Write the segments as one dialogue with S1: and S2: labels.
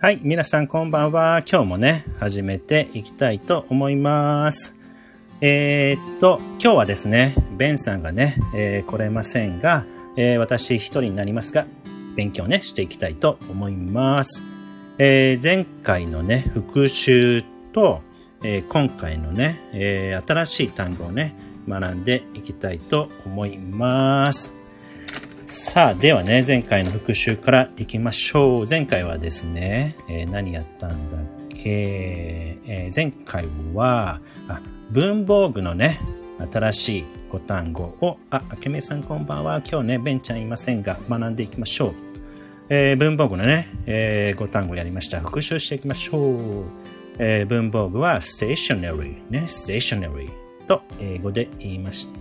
S1: はい、皆さんこんばんは。今日もね、始めていきたいと思います。今日はですね、ベンさんがね、来れませんが、私一人になりますが、勉強ね、していきたいと思います。前回のね、復習と、今回のね、新しい単語をね、学んでいきたいと思います。さあ、ではね、前回の復習からいきましょう。前回はですね、何やったんだっけ、前回は文房具のね、新しい5単語を、あけめさんこんばんは。今日ね、ベンちゃんいませんが、学んでいきましょう。文房具のね、5単語やりました。復習していきましょう。文房具は stationery ね、stationery と英語で言いました。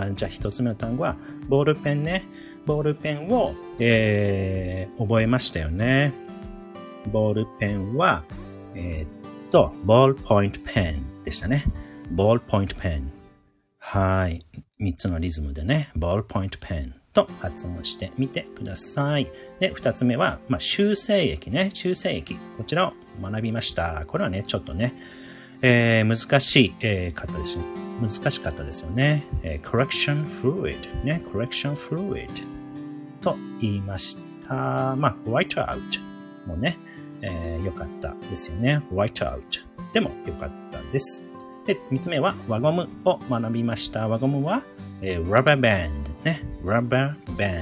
S1: じゃあ一つ目の単語はボールペンね。ボールペンを、覚えましたよね。ボールペンは、ボールポイントペンでしたね。ボールポイントペン。はい。3つのリズムでね、ボールポイントペンと発音してみてください。で、2つ目は、修正液ね。修正液。こちらを学びました。これはね、ちょっとね、難しかったですよね。correction fluid ね。correction fluid と言いました。white out もね、良かったですよね。white out でも良かったです。で、3つ目は輪ゴムを学びました。輪ゴムは、rubber band ね。rubber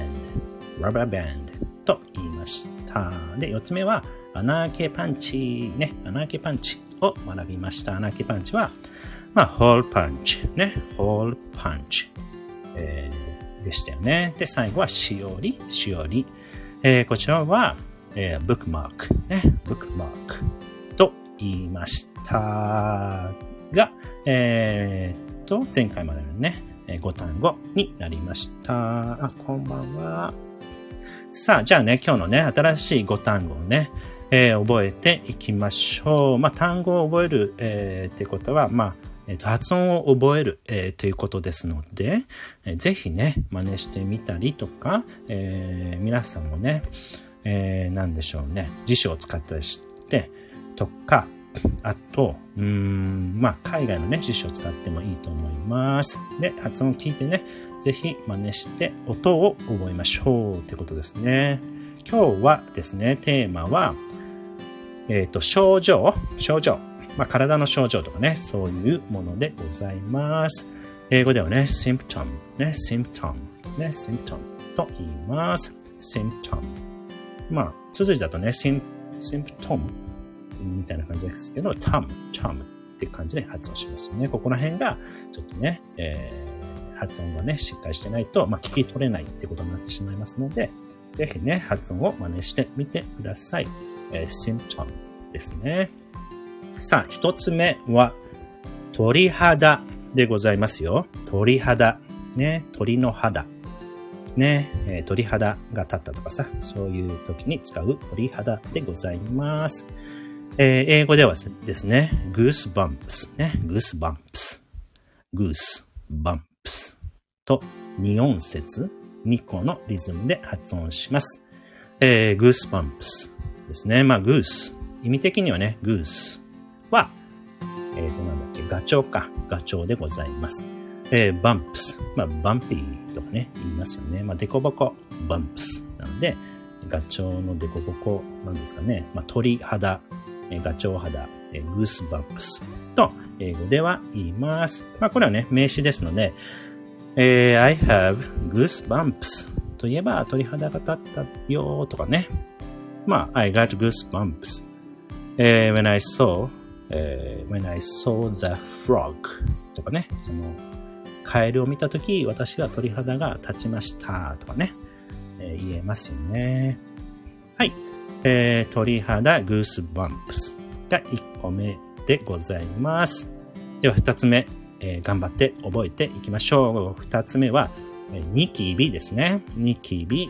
S1: band と言いました。で、4つ目は穴あけパンチね。穴あけパンチを学びました。穴あけパンチは、hole punch ね。hole punch、でしたよね。で、最後はしおり。こちらは、bookmark ね。bookmark と言いましたが、前回までのね、5単語になりました。こんばんは。さあ、じゃあね、今日のね、新しい5単語をね、覚えていきましょう。単語を覚える、ってことは、発音を覚える、ということですので、ぜひね、真似してみたりとか、皆さんもね、何でしょうね、辞書を使ったりしてとか、あと、海外のね、辞書を使ってもいいと思います。で、発音を聞いてね、ぜひ真似して音を覚えましょうってことですね。今日はですね、テーマは、症状。体の症状とかね、そういうものでございます。英語ではね、symptom と言います。symptom。綴りだとね、symptom みたいな感じですけど、term っていう感じで発音しますよね。ここら辺が、ちょっとね、発音がね、しっかりしてないと、聞き取れないってことになってしまいますので、ぜひね、発音を真似してみてください。symptom ですね。さあ、一つ目は、鳥肌でございますよ。鳥肌。ね、鳥の肌。ね、鳥肌が立ったとかさ、そういう時に使う鳥肌でございます。英語ではですね、goosebumps ね、goosebumps と2音節、2個のリズムで発音します。goosebumps ですね。goose、意味的にはね、gooseは、ガチョウでございます。bumps、バンピーとかね、言いますよね。デコボコ、bumps なので、ガチョウのデコボコなんですかね。鳥肌、ガチョウ肌、goosebumps と英語では言います。これはね、名詞ですので、I have goosebumps といえば鳥肌が立ったよとかね。I got goosebumps、when I saw the frog とかね。そのカエルを見たとき、私は鳥肌が立ちましたとかね。言えますよね。はい。鳥肌 goosebumps が1個目でございます。では2つ目、頑張って覚えていきましょう。2つ目は、ニキビですね。ニキビ。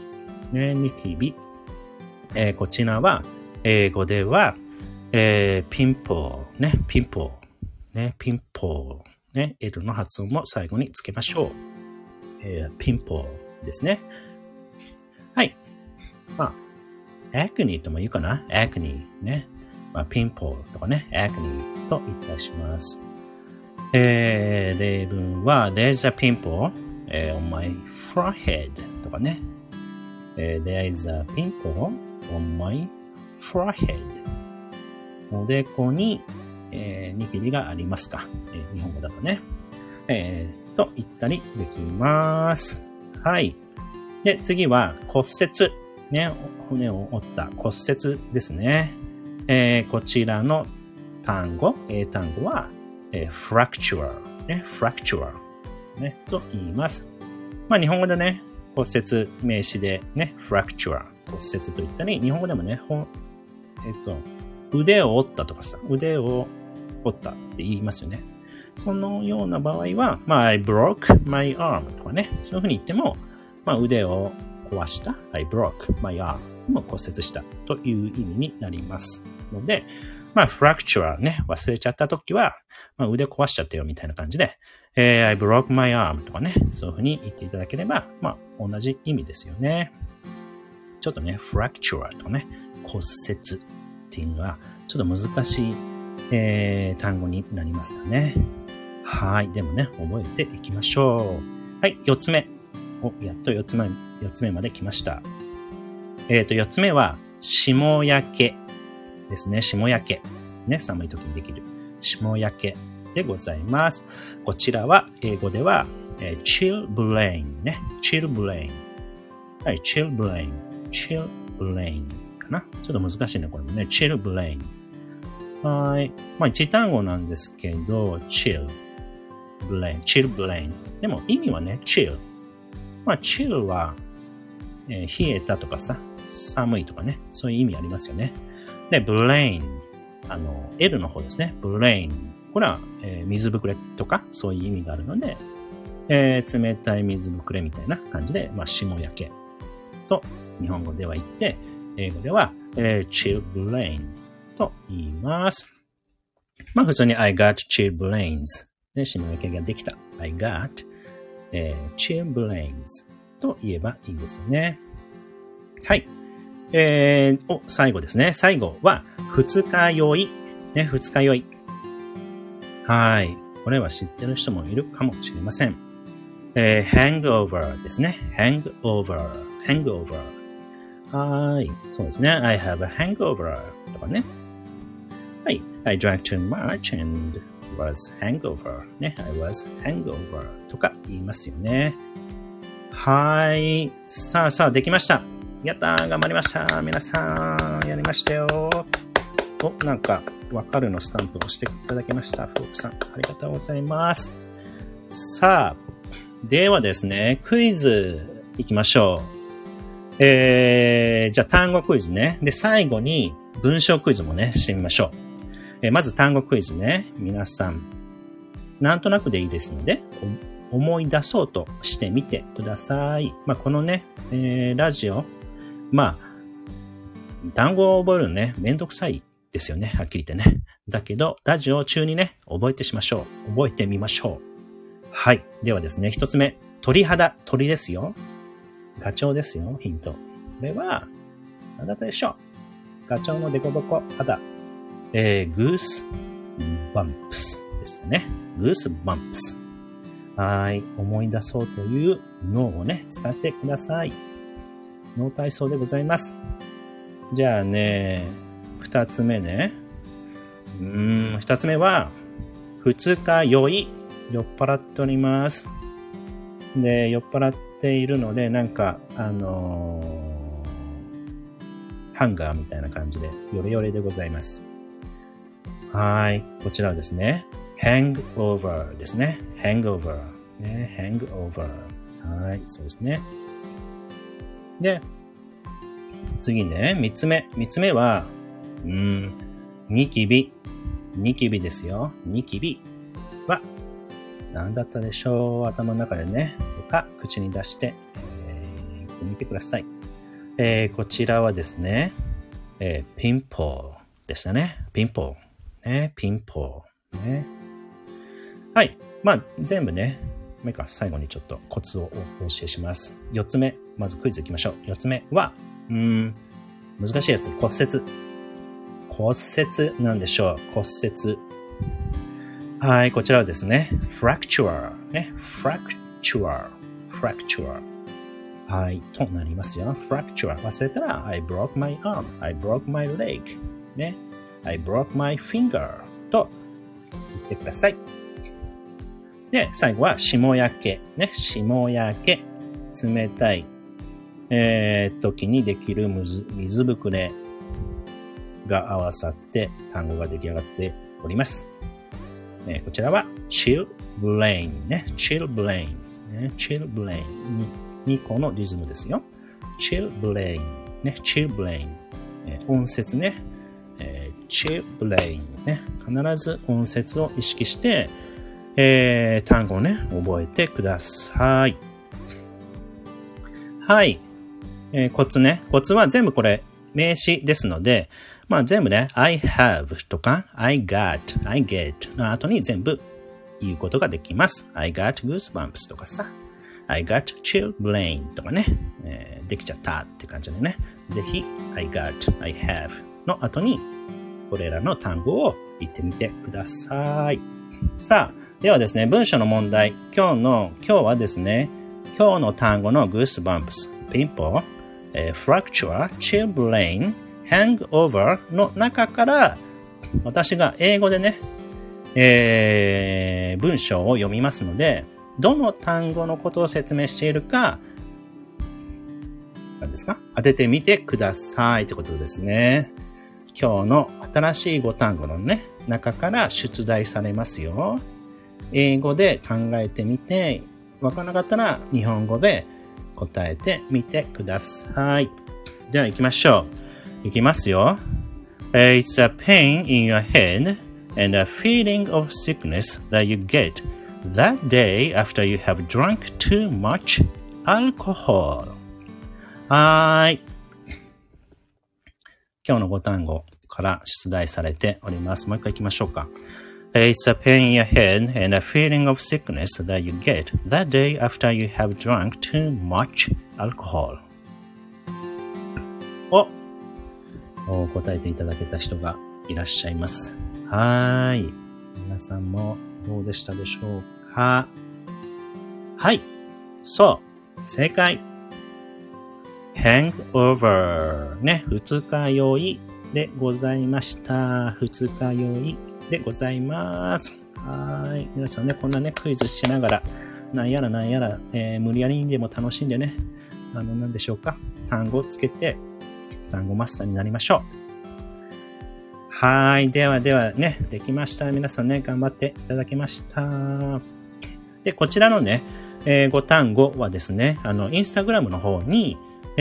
S1: こちらは、英語では、ピンポーね。ピンポーね。L の発音も最後につけましょう。ピンポーですね。はい。 acne とも言うかな acne ね。まあ、ピンポーとかね、acne と言ったりします。例文は、there's a pimple、on my forehead とかね。there's a pimple on my forehead。おでこに、ニキビがありますか。日本語だとね。と言ったりできます。はい。で、次は骨折。ね、骨を折った骨折ですね。こちらの単語、英単語は、fracture、ね、fracture、ね、と言います。まあ、日本語でね、骨折名詞でね、fracture、骨折と言ったり、日本語でもね、腕を折ったとかさ、腕を折ったって言いますよね。そのような場合は、まあ、I broke my arm とかね、そういうふうに言っても、まあ、腕を壊した、I broke my arm も骨折したという意味になりますので、まあ、fracture ね、忘れちゃったときは、まあ、腕壊しちゃったよみたいな感じで、I broke my arm とかね、そういうふうに言っていただければ、まあ、同じ意味ですよね。ちょっとね、fracture とかね、骨折っていうのは、ちょっと難しい、単語になりますかね。はい。でもね、覚えていきましょう。はい、4つ目。やっと4つ目まで来ました。4つ目は、霜焼けですね。霜焼け。ね、寒い時にできる。霜焼けでございます。こちらは、英語では、chilblain ね。chilblain。はい、chilblain。chilblain かな。ちょっと難しいね、これもね。chilblain。はい。まあ、一単語なんですけど、chilblain。でも意味はね、chill。まあ、chill は、冷えたとかさ、寒いとかね、そういう意味ありますよね。で、blain。L の方ですね。blain。これは、水ぶくれとか、そういう意味があるので、冷たい水ぶくれみたいな感じで、まあ、霜焼けと日本語では言って、英語では、chilblain と言います。まあ、普通に I got chilblains で、霜焼けができた。I got chilblains と言えばいいですよね。はい。最後ですね。最後は、二日酔い。ね、二日酔い。はい。これは知ってる人もいるかもしれません。hangover ですね。hangover。はい。そうですね。I have a hangover とかね。はい。I drank too much and was hangover ね。I was hangover とか言いますよね。はい。さあ、できました。やったー、頑張りました。皆さん、やりましたよ。なんか、わかるのスタンプを押していただきました。フォークさん、ありがとうございます。さあ、ではですね、クイズいきましょう。じゃあ単語クイズね。で、最後に文章クイズもね、してみましょう。まず単語クイズね。皆さん、なんとなくでいいですので、思い出そうとしてみてください。まあ、このね、ラジオ、まあ、単語を覚えるのね、めんどくさいですよね。はっきり言ってね。だけど、ラジオ中にね、覚えてみましょう。はい。ではですね、一つ目。鳥肌。鳥ですよ。ガチョウですよ。ヒント。これは、何だったでしょう。ガチョウのデコボコ肌。グースバンプスですね。グースバンプス。はい。思い出そうという脳をね、使ってください。脳体操でございます。じゃあね、二つ目ね。二つ目は、二日酔い。酔っ払っております。で、酔っ払っているので、なんか、ハンガーみたいな感じで、ヨレヨレでございます。はい。こちらはですね、hangover ですね。hangover。ね、hangover。はい。そうですね。で、次ね、三つ目。三つ目は、ニキビ。ニキビですよ。ニキビは、何だったでしょう。頭の中でね、とか、口に出して、言ってみてください。こちらはですね、ピンポーでしたね。ピンポー。ね、ピンポー。ね。はい。まあ、全部ね、最後にちょっとコツをお教えします。4つ目。まずクイズいきましょう。4つ目は、 難しいやつ、骨折。骨折なんでしょう。骨折。はい、こちらはですね、fracture。ね、fracture。はい、となりますよ。fracture。忘れたら、I broke my arm.I broke my leg. ね。I broke my finger. と言ってください。で、最後は、霜焼け。ね、霜焼け。冷たい、時にできる水ぶくれが合わさって単語が出来上がっております。こちらは chill brain ね。chill brain ね。chill brain 2個のリズムですよ。chill brain ね。chill brain 音節ね。chill brain ね。必ず音節を意識して、単語をね、覚えてください。はい。コツね。コツは全部これ名詞ですので、まあ全部ね、I have とか I get の後に全部言うことができます。I got goosebumps とかさ、I got chill brain とかね、できちゃったって感じでね、ぜひ I have の後にこれらの単語を言ってみてください。さあ、ではですね、文章の問題。今日はですね、今日の単語の goosebumps、pimple、fracture、chill brain、hangover の中から、私が英語でね、文章を読みますので、どの単語のことを説明しているか、何ですか？当ててみてくださいってことですね。今日の新しい5単語のね、中から出題されますよ。英語で考えてみて、わからなかったら日本語で答えてみてください。では行きましょう。行きますよ。It's a pain in your head and a feeling of sickness that you get that day after you have drunk too much alcohol. はい。今日の5単語から出題されております。もう一回行きましょうか。It's a pain in your head and a feeling of sickness that you get that day after you have drunk too much alcohol. 答えていただけた人がいらっしゃいます。はい。皆さんもどうでしたでしょうか？はい。そう。正解。hangover ね。二日酔いでございました。二日酔いでございます。はい。皆さんね、こんなね、クイズしながら、なんやら、無理やりにでも楽しんでね、なんでしょうか。単語をつけて、単語マスターになりましょう。はい。ではね、できました。皆さんね、頑張っていただきました。で、こちらのね、5単語はですね、インスタグラムの方に、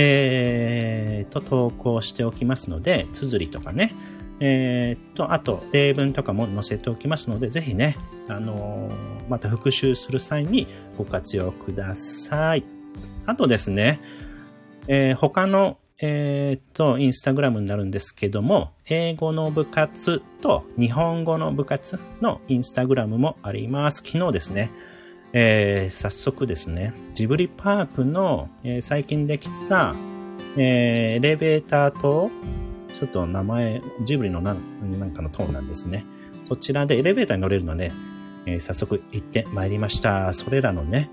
S1: 投稿しておきますので、綴りとかね、あと、例文とかも載せておきますので、ぜひね、また復習する際にご活用ください。あとですね、他の、インスタグラムになるんですけども、英語の部活と日本語の部活のインスタグラムもあります。昨日ですね、早速ですね、ジブリパークの、最近できた、エレベーターと、ちょっと名前、ジブリのなんかの塔なんですね。そちらでエレベーターに乗れるので、早速行ってまいりました。それらのね、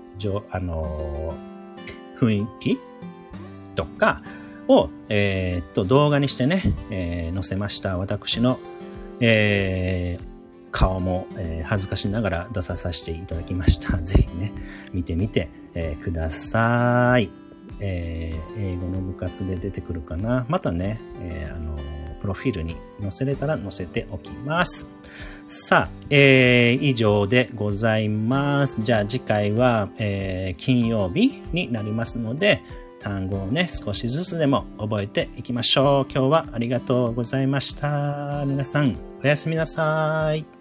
S1: 雰囲気とかを、動画にしてね、載せました。私の、顔も、恥ずかしながら出させていただきました。ぜひね、見てみて、ください。英語の部活で出てくるかな。またね、プロフィールに載せれたら載せておきます。さあ、以上でございます。じゃあ次回は、金曜日になりますので、単語をね、少しずつでも覚えていきましょう。今日はありがとうございました。皆さん、おやすみなさい。